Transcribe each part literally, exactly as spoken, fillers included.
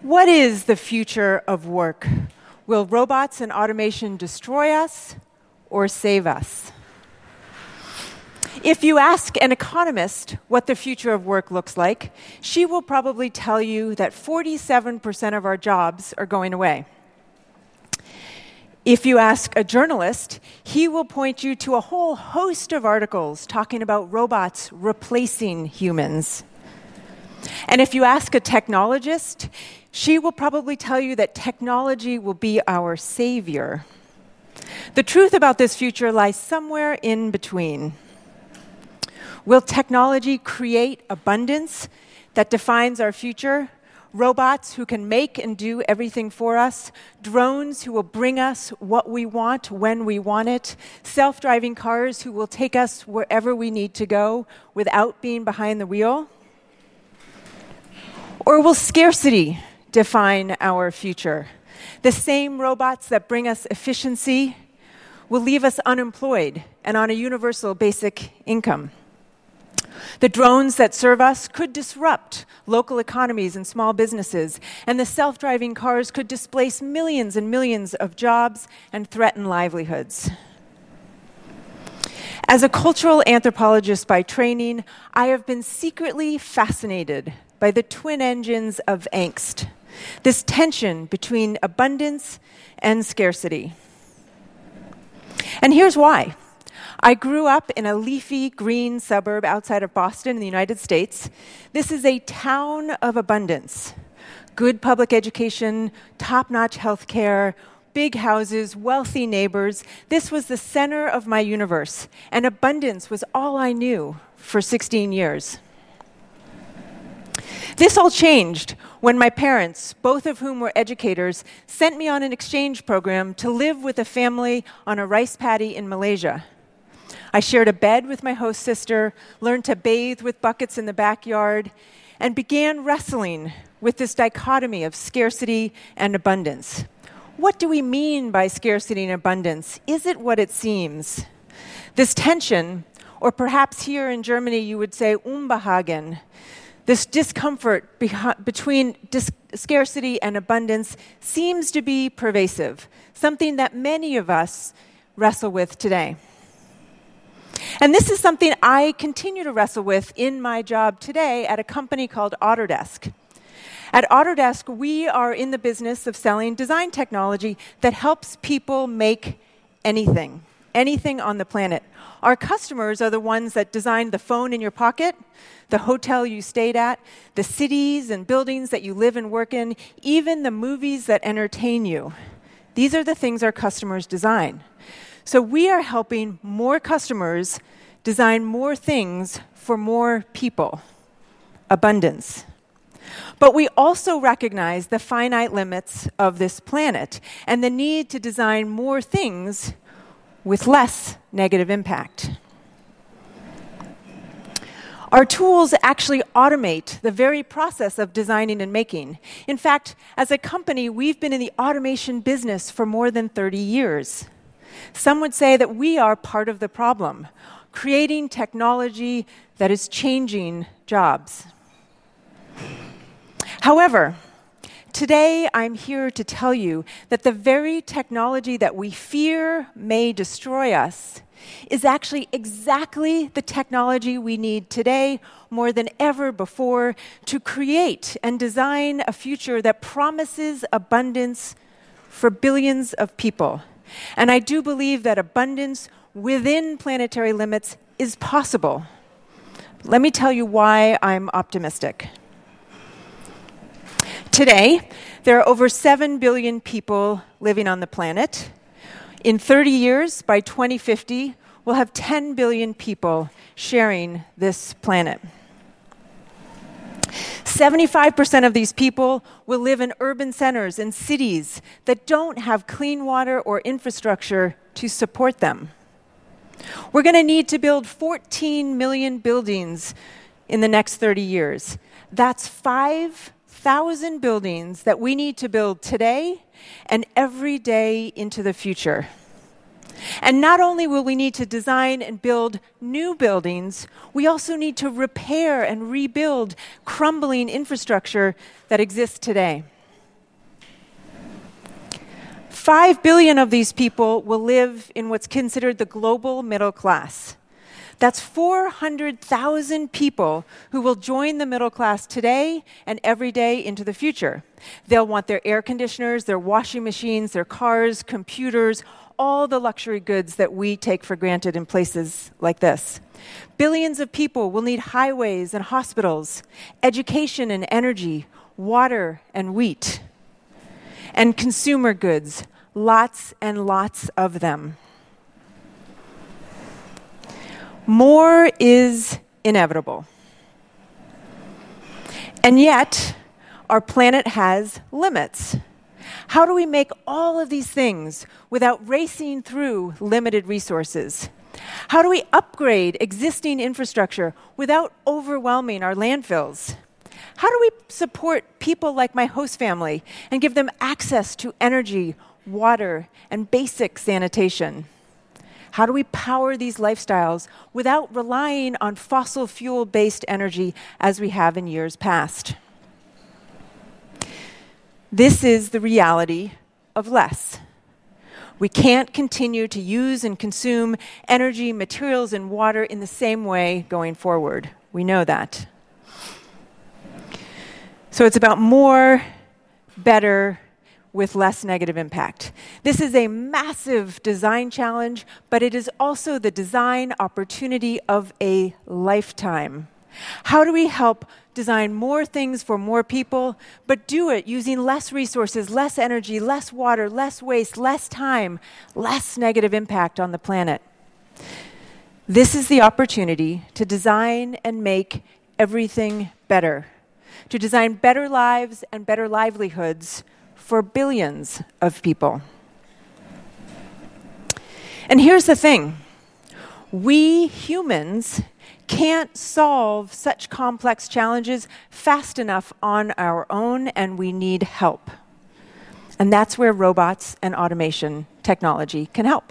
What is the future of work? Will robots and automation destroy us or save us? If you ask an economist what the future of work looks like, she will probably tell you that forty-seven percent of our jobs are going away. If you ask a journalist, he will point you to a whole host of articles talking about robots replacing humans. And if you ask a technologist, she will probably tell you that technology will be our savior. The truth about this future lies somewhere in between. Will technology create abundance that defines our future? Robots who can make and do everything for us, drones who will bring us what we want when we want it, self-driving cars who will take us wherever we need to go without being behind the wheel? Or will scarcity define our future? The same robots that bring us efficiency will leave us unemployed and on a universal basic income. The drones that serve us could disrupt local economies and small businesses, and the self-driving cars could displace millions and millions of jobs and threaten livelihoods. As a cultural anthropologist by training, I have been secretly fascinated by the twin engines of angst, this tension between abundance and scarcity. And here's why. I grew up in a leafy green suburb outside of Boston in the United States. This is a town of abundance. Good public education, top-notch health care, big houses, wealthy neighbors. This was the center of my universe, and abundance was all I knew for sixteen years. This all changed when my parents, both of whom were educators, sent me on an exchange program to live with a family on a rice paddy in Malaysia. I shared a bed with my host sister, learned to bathe with buckets in the backyard, and began wrestling with this dichotomy of scarcity and abundance. What do we mean by scarcity and abundance? Is it what it seems? This tension, or perhaps here in Germany you would say Unbehagen, this discomfort beha- between dis- scarcity and abundance seems to be pervasive, something that many of us wrestle with today. And this is something I continue to wrestle with in my job today at a company called Autodesk. At Autodesk, we are in the business of selling design technology that helps people make anything, anything on the planet. Our customers are the ones that design the phone in your pocket, the hotel you stayed at, the cities and buildings that you live and work in, even the movies that entertain you. These are the things our customers design. So we are helping more customers design more things for more people. Abundance. But we also recognize the finite limits of this planet and the need to design more things with less negative impact. Our tools actually automate the very process of designing and making. In fact, as a company, we've been in the automation business for more than thirty years. Some would say that we are part of the problem, creating technology that is changing jobs. However, today I'm here to tell you that the very technology that we fear may destroy us is actually exactly the technology we need today more than ever before to create and design a future that promises abundance for billions of people. And I do believe that abundance within planetary limits is possible. Let me tell you why I'm optimistic. Today, there are over seven billion people living on the planet. In thirty years, by twenty fifty, we'll have ten billion people sharing this planet. seventy-five percent of these people will live in urban centers and cities that don't have clean water or infrastructure to support them. We're going to need to build fourteen million buildings in the next thirty years. That's five thousand buildings that we need to build today and every day into the future. And not only will we need to design and build new buildings, we also need to repair and rebuild crumbling infrastructure that exists today. Five billion of these people will live in what's considered the global middle class. That's four hundred thousand people who will join the middle class today and every day into the future. They'll want their air conditioners, their washing machines, their cars, computers, all the luxury goods that we take for granted in places like this. Billions of people will need highways and hospitals, education and energy, water and wheat, and consumer goods, lots and lots of them. More is inevitable. And yet, our planet has limits. How do we make all of these things without racing through limited resources? How do we upgrade existing infrastructure without overwhelming our landfills? How do we support people like my host family and give them access to energy, water, and basic sanitation? How do we power these lifestyles without relying on fossil fuel-based energy as we have in years past? This is the reality of less. We can't continue to use and consume energy, materials, and water in the same way going forward. We know that. So it's about more, better, with less negative impact. This is a massive design challenge, but it is also the design opportunity of a lifetime. How do we help design more things for more people, but do it using less resources, less energy, less water, less waste, less time, less negative impact on the planet? This is the opportunity to design and make everything better, to design better lives and better livelihoods for billions of people. And here's the thing. We humans can't solve such complex challenges fast enough on our own, and we need help. And that's where robots and automation technology can help.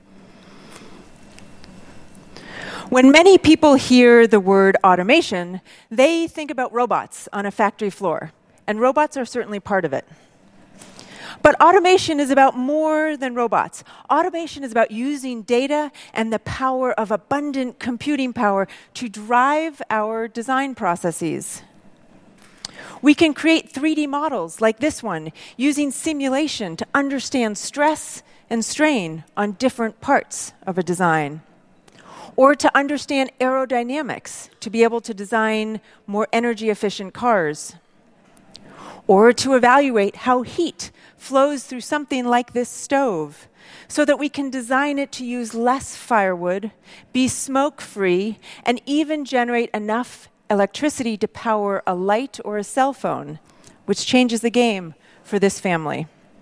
When many people hear the word automation, they think about robots on a factory floor, and robots are certainly part of it. But automation is about more than robots. Automation is about using data and the power of abundant computing power to drive our design processes. We can create three D models like this one using simulation to understand stress and strain on different parts of a design. Or to understand aerodynamics to be able to design more energy efficient cars. Or to evaluate how heat flows through something like this stove so that we can design it to use less firewood, be smoke-free, and even generate enough electricity to power a light or a cell phone, which changes the game for this family.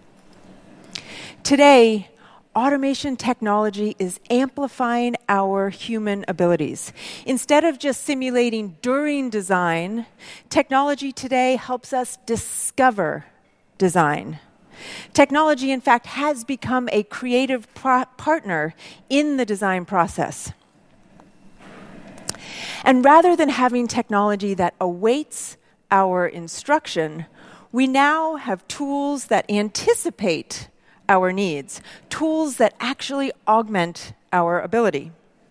Today, automation technology is amplifying our human abilities. Instead of just simulating during design, technology today helps us discover design. Technology, in fact, has become a creative pro- partner in the design process. And rather than having technology that awaits our instruction, we now have tools that anticipate our needs, tools that actually augment our ability.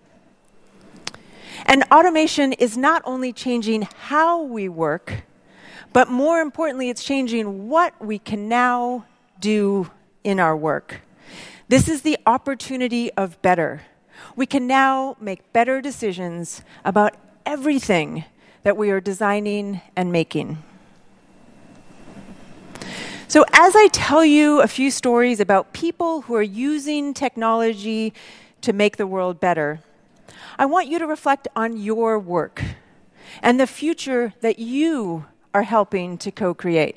And automation is not only changing how we work, but more importantly, it's changing what we can now do in our work. This is the opportunity of better. We can now make better decisions about everything that we are designing and making. So as I tell you a few stories about people who are using technology to make the world better, I want you to reflect on your work and the future that you are helping to co-create.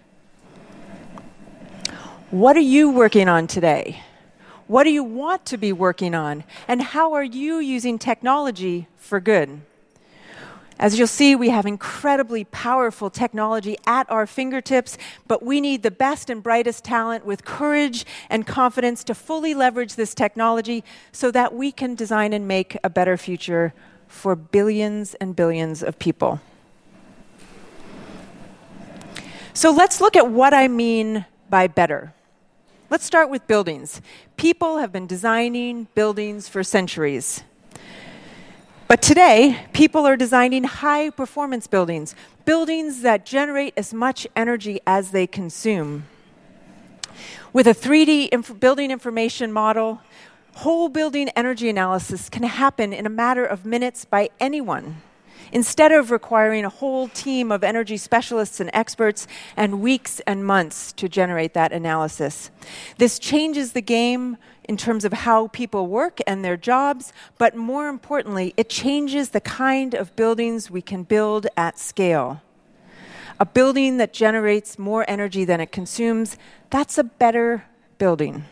What are you working on today? What do you want to be working on? And how are you using technology for good? As you'll see, we have incredibly powerful technology at our fingertips, but we need the best and brightest talent with courage and confidence to fully leverage this technology so that we can design and make a better future for billions and billions of people. So let's look at what I mean by better. Let's start with buildings. People have been designing buildings for centuries. But today, people are designing high-performance buildings, buildings that generate as much energy as they consume. With a three D inf- building information model, whole building energy analysis can happen in a matter of minutes by anyone, instead of requiring a whole team of energy specialists and experts and weeks and months to generate that analysis. This changes the game in terms of how people work and their jobs, but more importantly, it changes the kind of buildings we can build at scale. A building that generates more energy than it consumes, that's a better building.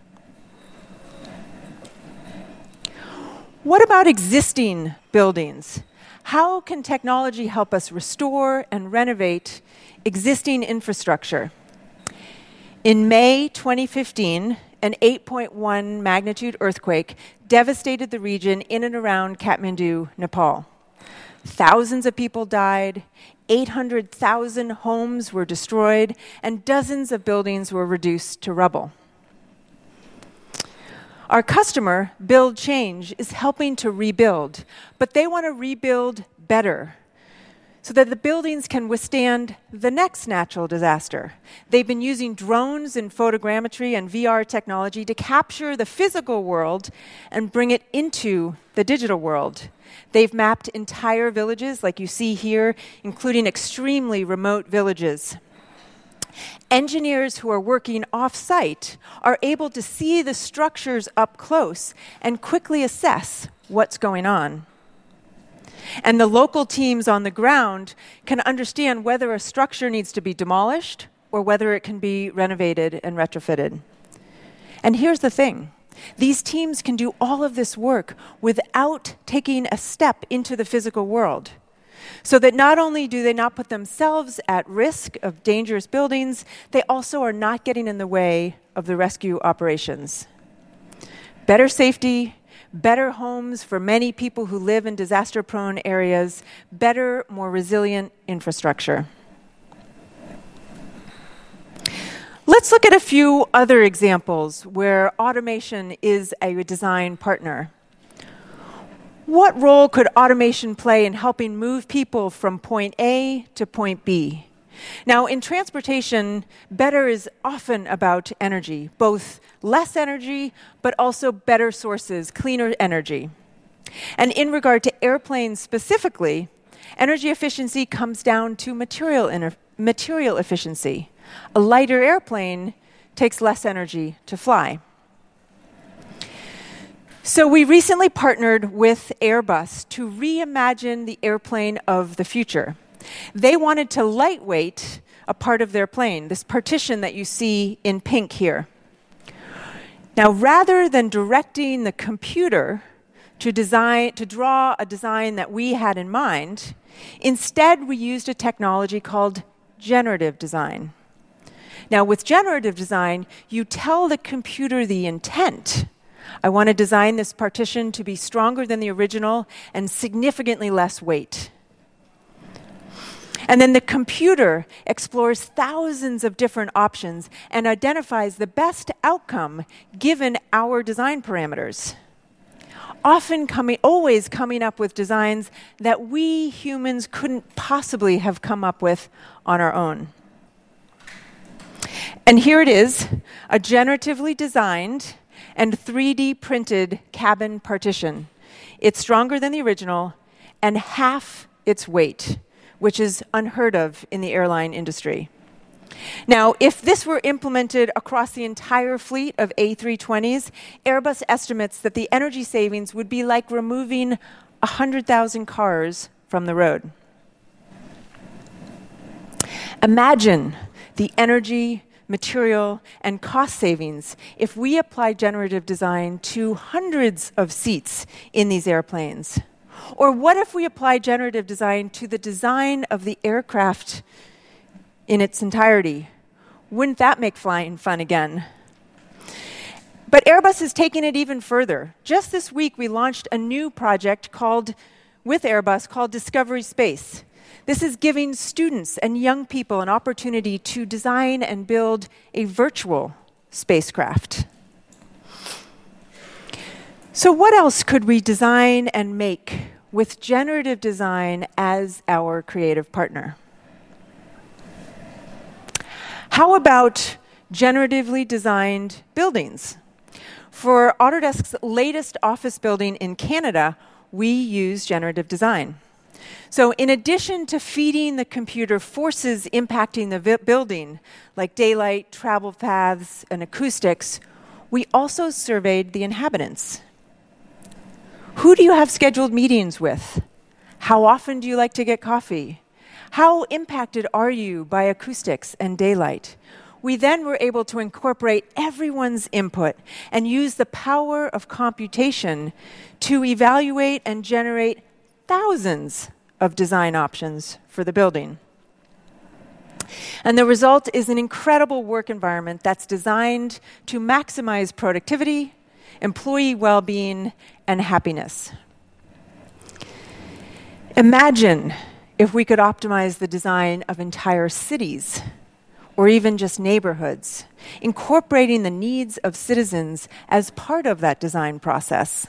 What about existing buildings? How can technology help us restore and renovate existing infrastructure? In May twenty fifteen, an eight point one magnitude earthquake devastated the region in and around Kathmandu, Nepal. Thousands of people died, eight hundred thousand homes were destroyed, and dozens of buildings were reduced to rubble. Our customer, Build Change, is helping to rebuild, but they want to rebuild better so that the buildings can withstand the next natural disaster. They've been using drones and photogrammetry and V R technology to capture the physical world and bring it into the digital world. They've mapped entire villages, like you see here, including extremely remote villages. Engineers who are working off-site are able to see the structures up close and quickly assess what's going on. And the local teams on the ground can understand whether a structure needs to be demolished or whether it can be renovated and retrofitted. And here's the thing. These teams can do all of this work without taking a step into the physical world, so that not only do they not put themselves at risk of dangerous buildings, they also are not getting in the way of the rescue operations. Better safety, better homes for many people who live in disaster-prone areas, better, more resilient infrastructure. Let's look at a few other examples where automation is a design partner. What role could automation play in helping move people from point A to point B? Now, in transportation, better is often about energy, both less energy, but also better sources, cleaner energy. And in regard to airplanes specifically, energy efficiency comes down to material, inter- material efficiency. A lighter airplane takes less energy to fly. So we recently partnered with Airbus to reimagine the airplane of the future. They wanted to lightweight a part of their plane, this partition that you see in pink here. Now, rather than directing the computer to design, to draw a design that we had in mind, instead we used a technology called generative design. Now, with generative design, you tell the computer the intent. I want to design this partition to be stronger than the original and significantly less weight. And then the computer explores thousands of different options and identifies the best outcome given our design parameters. Often coming, always coming up with designs that we humans couldn't possibly have come up with on our own. And here it is, a generatively designed and three D printed cabin partition. It's stronger than the original and half its weight, which is unheard of in the airline industry. Now, if this were implemented across the entire fleet of A three twenties, Airbus estimates that the energy savings would be like removing one hundred thousand cars from the road. Imagine the energy, material, and cost savings if we apply generative design to hundreds of seats in these airplanes. Or what if we apply generative design to the design of the aircraft in its entirety? Wouldn't that make flying fun again? But Airbus is taking it even further. Just this week, we launched a new project called, with Airbus called Discovery Space. This is giving students and young people an opportunity to design and build a virtual spacecraft. So what else could we design and make with generative design as our creative partner? How about generatively designed buildings? For Autodesk's latest office building in Canada, we use generative design. So in addition to feeding the computer forces impacting the vi- building, like daylight, travel paths, and acoustics, we also surveyed the inhabitants. Who do you have scheduled meetings with? How often do you like to get coffee? How impacted are you by acoustics and daylight? We then were able to incorporate everyone's input and use the power of computation to evaluate and generate thousands of design options for the building. And the result is an incredible work environment that's designed to maximize productivity, employee well-being, and happiness. Imagine if we could optimize the design of entire cities, or even just neighborhoods, incorporating the needs of citizens as part of that design process.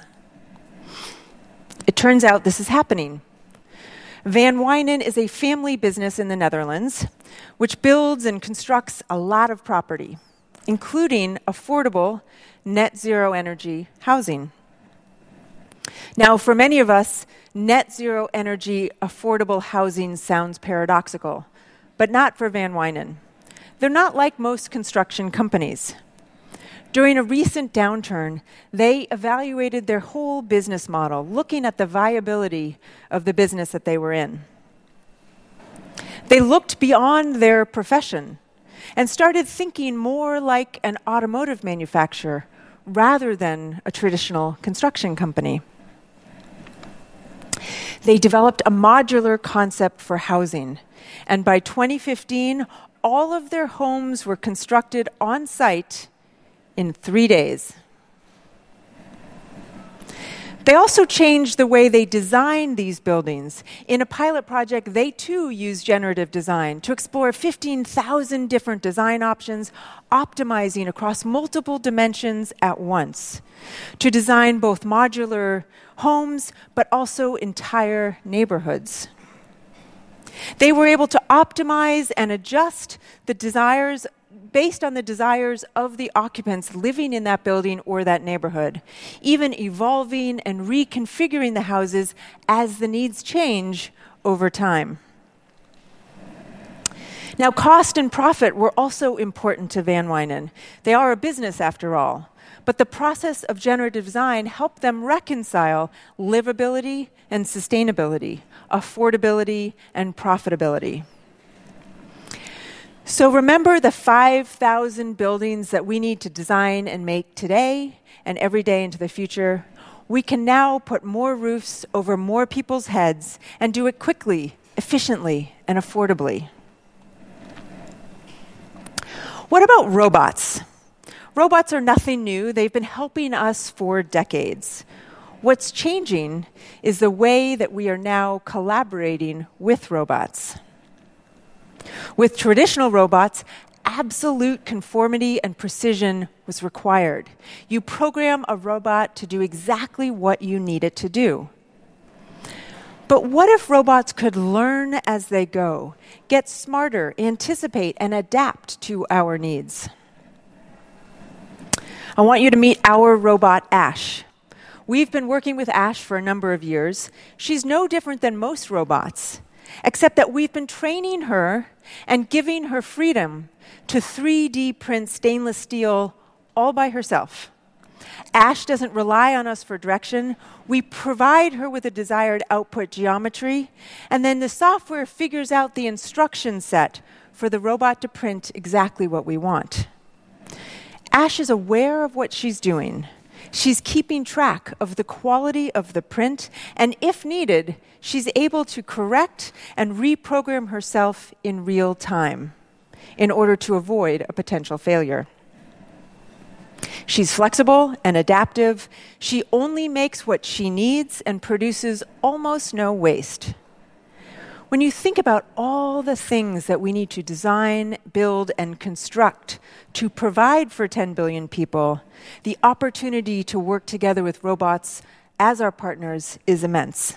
It turns out this is happening. Van Wijnen is a family business in the Netherlands, which builds and constructs a lot of property, including affordable net zero energy housing. Now, for many of us, net zero energy affordable housing sounds paradoxical, but not for Van Wijnen. They're not like most construction companies. During a recent downturn, they evaluated their whole business model, looking at the viability of the business that they were in. They looked beyond their profession and started thinking more like an automotive manufacturer rather than a traditional construction company. They developed a modular concept for housing, and by twenty fifteen, all of their homes were constructed on site in three days. They also changed the way they designed these buildings. In a pilot project, they too used generative design to explore fifteen thousand different design options, optimizing across multiple dimensions at once, to design both modular homes, but also entire neighborhoods. They were able to optimize and adjust the desires based on the desires of the occupants living in that building or that neighborhood, even evolving and reconfiguring the houses as the needs change over time. Now, cost and profit were also important to Van Wijnen. They are a business, after all. But the process of generative design helped them reconcile livability and sustainability, affordability and profitability. So remember the five thousand buildings that we need to design and make today and every day into the future. We can now put more roofs over more people's heads and do it quickly, efficiently, and affordably. What about robots? Robots are nothing new. They've been helping us for decades. What's changing is the way that we are now collaborating with robots. With traditional robots, absolute conformity and precision was required. You program a robot to do exactly what you need it to do. But what if robots could learn as they go, get smarter, anticipate, and adapt to our needs? I want you to meet our robot, Ash. We've been working with Ash for a number of years. She's no different than most robots, except that we've been training her and giving her freedom to three D print stainless steel all by herself. Ash doesn't rely on us for direction. We provide her with a desired output geometry, and then the software figures out the instruction set for the robot to print exactly what we want. Ash is aware of what she's doing. She's keeping track of the quality of the print, and if needed, she's able to correct and reprogram herself in real time in order to avoid a potential failure. She's flexible and adaptive. She only makes what she needs and produces almost no waste. When you think about all the things that we need to design, build, and construct to provide for ten billion people, the opportunity to work together with robots as our partners is immense.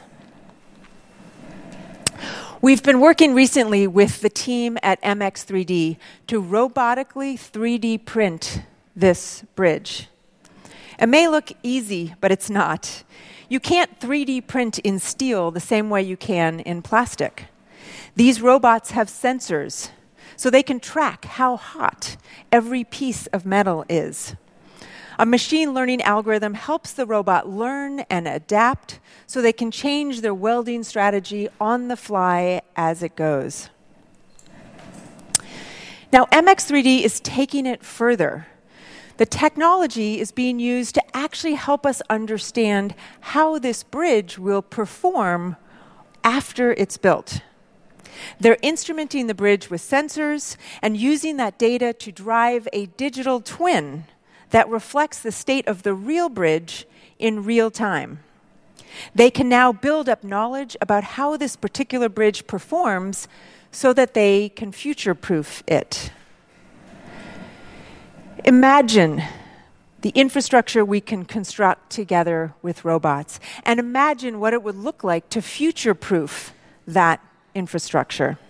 We've been working recently with the team at M X three D to robotically three D print this bridge. It may look easy, but it's not. You can't three D print in steel the same way you can in plastic. These robots have sensors, so they can track how hot every piece of metal is. A machine learning algorithm helps the robot learn and adapt so they can change their welding strategy on the fly as it goes. Now, M X three D is taking it further. The technology is being used to actually help us understand how this bridge will perform after it's built. They're instrumenting the bridge with sensors and using that data to drive a digital twin that reflects the state of the real bridge in real time. They can now build up knowledge about how this particular bridge performs so that they can future-proof it. Imagine the infrastructure we can construct together with robots, and imagine what it would look like to future-proof that infrastructure.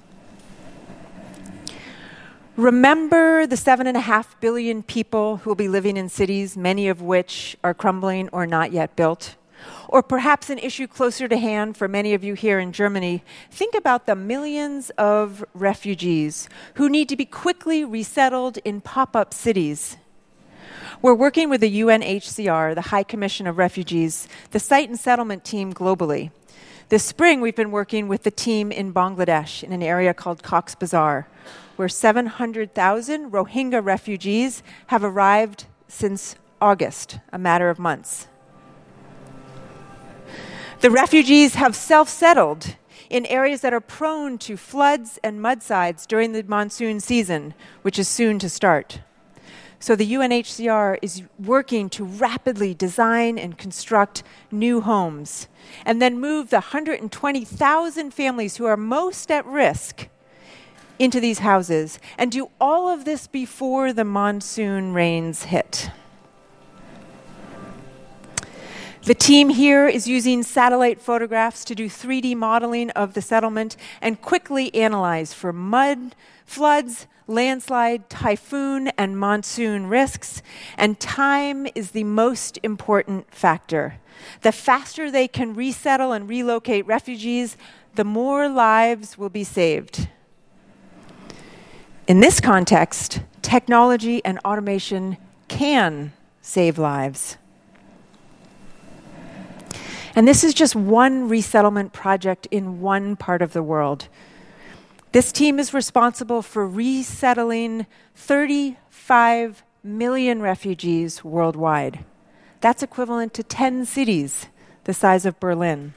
Remember the seven and a half billion people who will be living in cities, many of which are crumbling or not yet built? Or perhaps an issue closer to hand for many of you here in Germany, think about the millions of refugees who need to be quickly resettled in pop-up cities. We're working with the U N H C R, the High Commission of Refugees, the site and settlement team globally. This spring, we've been working with the team in Bangladesh in an area called Cox's Bazar, where seven hundred thousand Rohingya refugees have arrived since August, a matter of months. The refugees have self-settled in areas that are prone to floods and mudslides during the monsoon season, which is soon to start. So the U N H C R is working to rapidly design and construct new homes, and then move the one hundred twenty thousand families who are most at risk into these houses, and do all of this before the monsoon rains hit. The team here is using satellite photographs to do three D modeling of the settlement and quickly analyze for mud, floods, landslide, typhoon, and monsoon risks, and time is the most important factor. The faster they can resettle and relocate refugees, the more lives will be saved. In this context, technology and automation can save lives. And this is just one resettlement project in one part of the world. This team is responsible for resettling thirty-five million refugees worldwide. That's equivalent to ten cities the size of Berlin.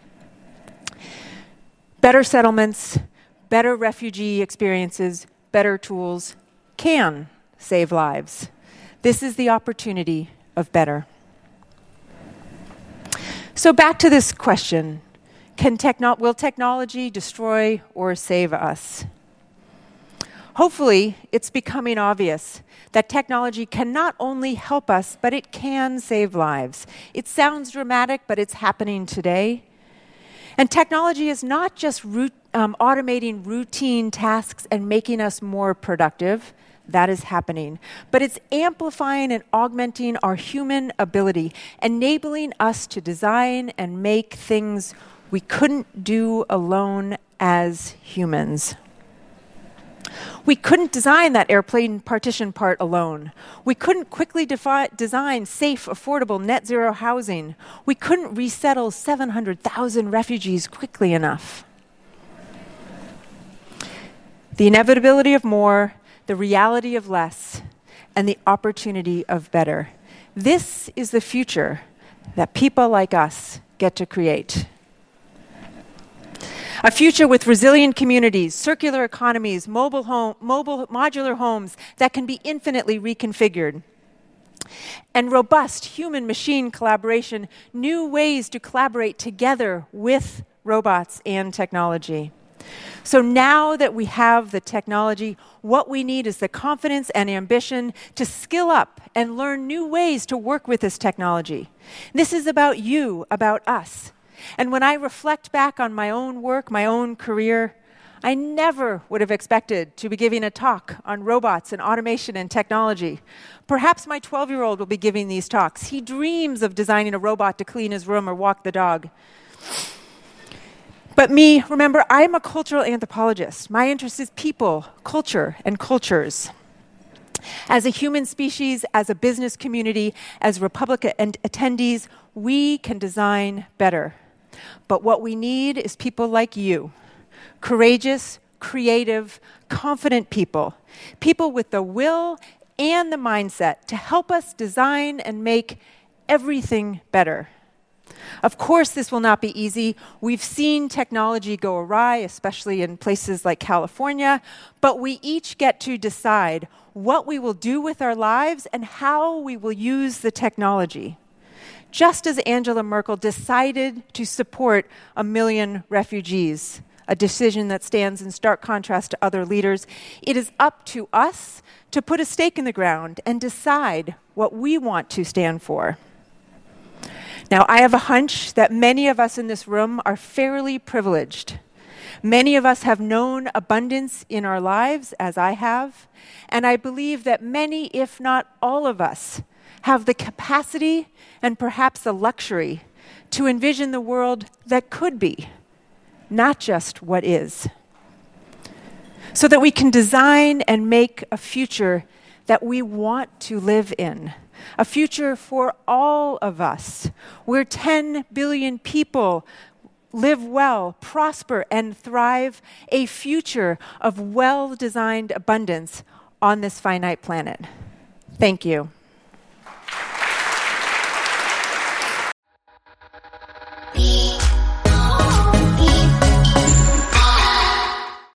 Better settlements, better refugee experiences, better tools can save lives. This is the opportunity of better. So back to this question, can techno- will technology destroy or save us? Hopefully, it's becoming obvious that technology can not only help us, but it can save lives. It sounds dramatic, but it's happening today. And technology is not just root, um, automating routine tasks and making us more productive. That is happening. But it's amplifying and augmenting our human ability, enabling us to design and make things we couldn't do alone as humans. We couldn't design that airplane partition part alone. We couldn't quickly defi- design safe, affordable, net zero housing. We couldn't resettle seven hundred thousand refugees quickly enough. The inevitability of more, the reality of less, and the opportunity of better. This is the future that people like us get to create. A future with resilient communities, circular economies, mobile, home, mobile modular homes that can be infinitely reconfigured, and robust human-machine collaboration, new ways to collaborate together with robots, and technology. So now that we have the technology, what we need is the confidence and ambition to skill up and learn new ways to work with this technology. This is about you, about us. And when I reflect back on my own work, my own career, I never would have expected to be giving a talk on robots and automation and technology. Perhaps my twelve-year-old will be giving these talks. He dreams of designing a robot to clean his room or walk the dog. But me, remember, I'm a cultural anthropologist. My interest is people, culture, and cultures. As a human species, as a business community, as Republic and attendees, we can design better. But what we need is people like you, courageous, creative, confident people, people with the will and the mindset to help us design and make everything better. Of course, this will not be easy. We've seen technology go awry, especially in places like California, but we each get to decide what we will do with our lives and how we will use the technology. Just as Angela Merkel decided to support a million refugees, a decision that stands in stark contrast to other leaders, it is up to us to put a stake in the ground and decide what we want to stand for. Now, I have a hunch that many of us in this room are fairly privileged. Many of us have known abundance in our lives, as I have, and I believe that many, if not all of us, have the capacity and perhaps the luxury to envision the world that could be, not just what is, so that we can design and make a future that we want to live in. A future for all of us, where ten billion people live well, prosper, and thrive, a future of well-designed abundance on this finite planet. Thank you.